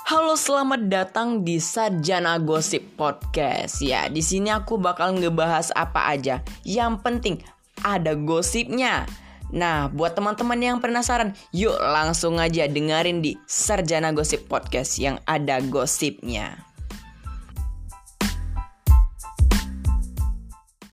Halo, selamat datang di Sarjana Gosip Podcast. Ya, di sini aku bakal ngebahas apa aja. Yang penting ada gosipnya. Nah, buat teman-teman yang penasaran, yuk langsung aja dengerin di Sarjana Gosip Podcast yang ada gosipnya.